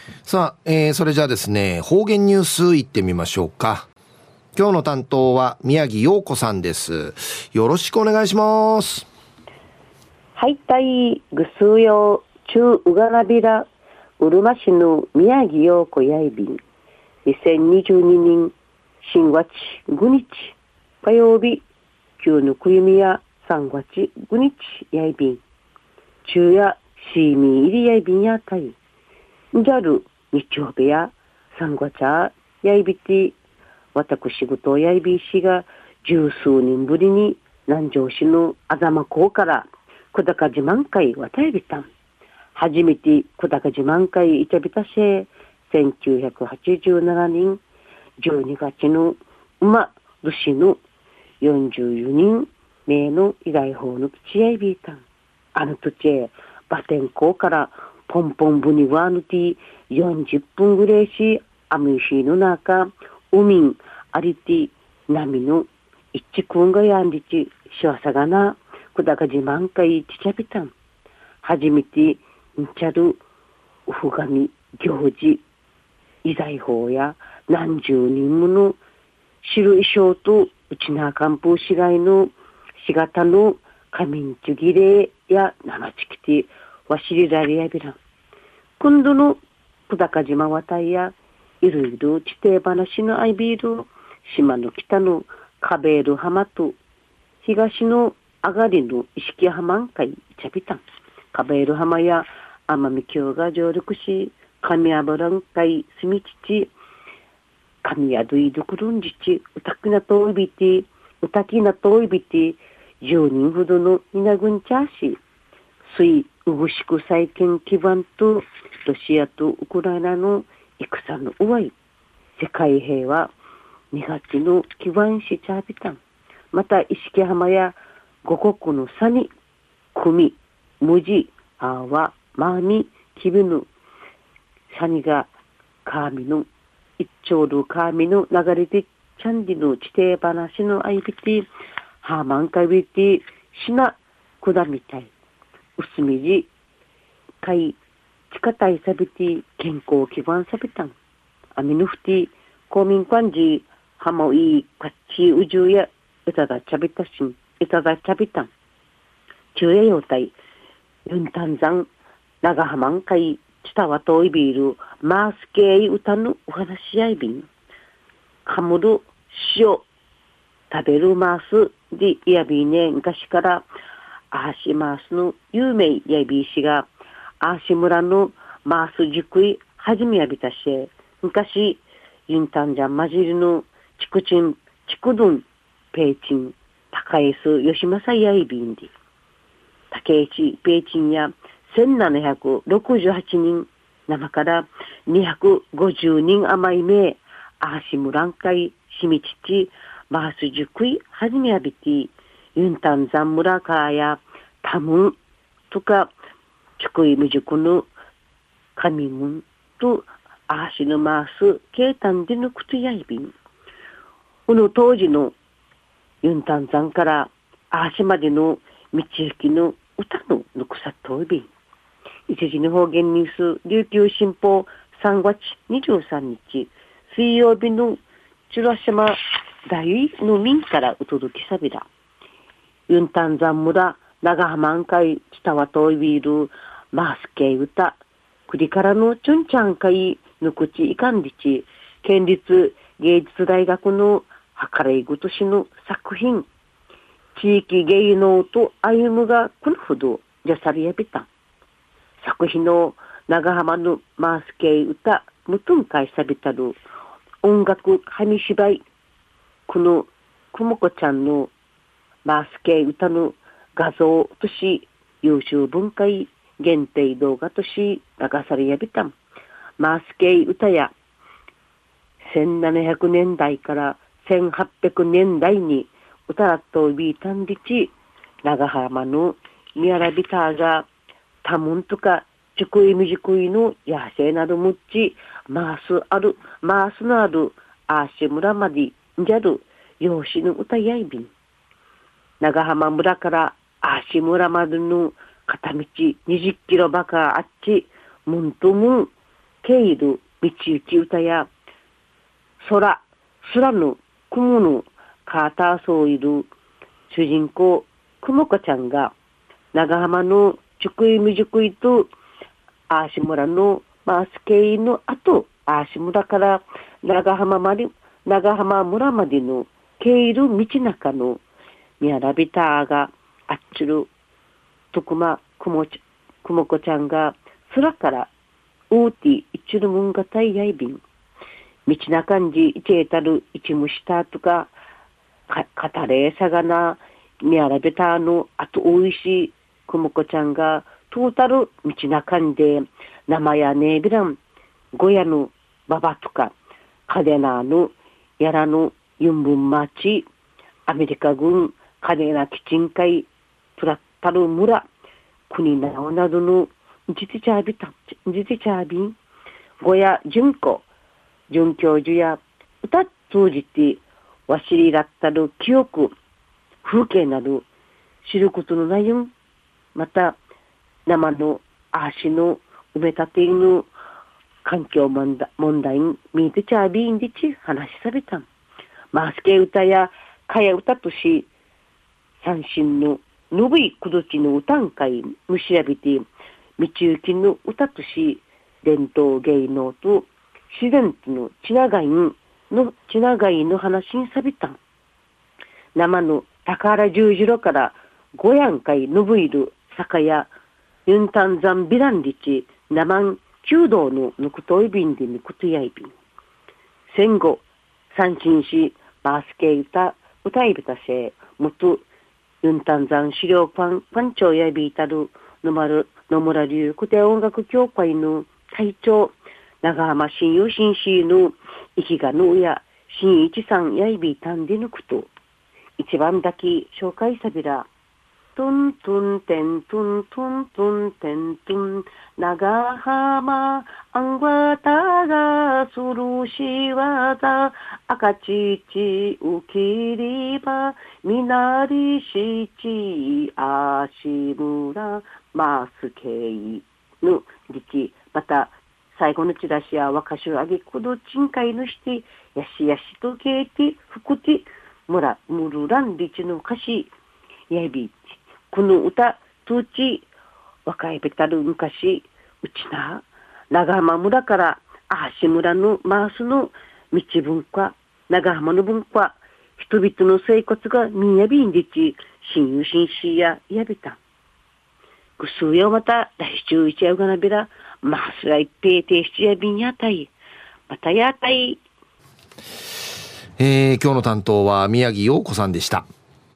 さあ、それじゃあですね、方言ニュースいってみましょうか。今日の担当は宮城陽子さんです。よろしくお願いします。 はい、たいぐすうよう中うがなびらうるま市の宮城陽子やいびん2022年新月5日火曜日旧のくゆみや3月5日やいびん中やシーミー入りやいびんやたいんじゃる日曜日や3月やいびて私ぐとやいびしが十数年ぶりに南城市のあざま港から小高自慢会渡りびたん。初めて小高自慢会いちゃびたせ、1987年12月の馬年の44人名の依頼法の基地やいびいたん。あの土地へバテン港からポンポンブニワーヌティ40分ぐらいし、アムイシーの中、海んありて波の一くんがやんりち、しわさがな、小高自慢会ちちゃびたん。初めてんちゃるうふがみ行事遺財法や何十人もの白衣装とうちなかんぷう市街のしがたの仮眠ちゅぎれや生ちきてわしりられやびらん。今度の小高島渡りやいろいろ地底話のアイビール島の北のカベール浜と東の上がりの石木浜んかいちゃびたん。カベール浜や奄美峡が上陸し、神油んかいすみちち、神宿いどくるんじち、うたきなといびて、うたきなといびて、10人ほどのいなぐんちゃし、水うぐしく再建基盤と、ロシアとウクライナの戦のうわい、世界平和、2月の基盤しちゃびたん。また、石木浜や五国の差に、組、無地、あわ、まみ、きびぬ、サニが、カーミの、一丁るカーミの流れで、チャンディの地底話のあいびて、ハーマンカビて、しな、くだみたい。うすみじ、かい、ちかたいさびて、健康基盤さびたん。アミヌフティ、公民館じ、ハモイ、カッチウジュや、いただちゃびたしん、いただちゃびたん。中英用体、ユンタンザン、長浜んかい、チタワトイビール、マースケイ歌のお話し合いびん。カムル、塩、食べるマース、で、いやびね、昔から、アーシマースの有名やびしが、アーシ村のマース塾い、はじめやびたし、昔、ユンタンザンマジルの、チクチン、チクドン、ペイチン、高江ス、吉正やいびんで。竹市ペイチンや1768人生から250人余り名アーシムランカイシミチチマースジュクイはじめやびてユンタンザン村カーやタムンとかチュクイムジュクのカミムンとアーシのマースケータンでのクトやいびんこの当時のユンタンザンからアーシまでの道行きの歌のぬくさといびん。一時の方言ニュース、琉球新報3月23日、水曜日のチュラ島大の民からうとどきさびら。ユンタンザン村、長浜んかい、北はといびる、マースケイ歌、クリからのチュンチャンかい、ぬくちいかんりち、県立芸術大学のはからいぐとしの作品、地域芸能と歩むがこのほどじゃさりやびた。作品の長浜のマースケイ歌、無頓会さびたる音楽紙芝居、このくもこちゃんのマースケイ歌の画像とし、優秀文化限定動画とし流されやびたん。マースケイ歌や1700年代から1800年代に歌らっとビータンリチ長浜のミヤラビターがタムンとかチュクイミジクイの野生などむっちマースのあるアーシ村までんじゃる養子の歌やいびん長浜村からアーシ村までの片道20キロばかあっちムンとムンけいる道行き歌や、空の雲のカーターソーいる主人公、くもこちゃんが、長浜の熟い未熟いと、アーシ村のマースケイの後、アーシ村から長浜村までの経いる道中のミヤラビターがあっちるとくまくもこちゃんが空からウーティ一るもんがたいやいびん道な感じいちえたる一むしたとか語れさがなミヤラビターのあとおいしいくもこちゃんがトータル道な感じで生やねびらんごやのばばとかカデナーのやらのユンブンマチアメリカ軍カデナ基地会プラッタル村国なおなどの実地チャービンごや準教授や歌通じてわしりらったる記憶風景など知ることのないよまた生の足の埋め立ての環境問題に見てちゃびんでち話しされた。マスケ歌やかや歌とし、三振ののぶいくどちの歌ん会むしらびて、道行きの歌とし、伝統芸能と自然とのちながいの話にさびた。生の宝十字路からごやん会のぶいる酒やユンタンザンビランリチ生ん弓道のぬくといびんでぬくとやいびん。戦後、三振し、マースケ歌いびたせ、もと、ユンタンザン資料パンチョやびいたる、野村流古典音楽協会の会長、長浜新友新市の生きがのや、新一さんやいびいたんでぬくと、一番だけ紹介さびら、トントンテントントントンテントン長浜あんわたがするしわざ赤ちちうきりばみなりしちあしむらマスケイのりちまた最後のチラシや若しゅあげくどちんかいのしてやしやしとけいてふくてむるらんりちの歌詞やびこの歌、とち、若いべたる昔、うちな、長浜村から、あし村のマースの道文化、長浜の文化、人々の生活がみやびんでち、新友新市ややびた。ぐすうよまた、来週一夜がなびら、マースが一平停止やびんやたい。またやたい。 今日の担当は宮城陽子さんでした。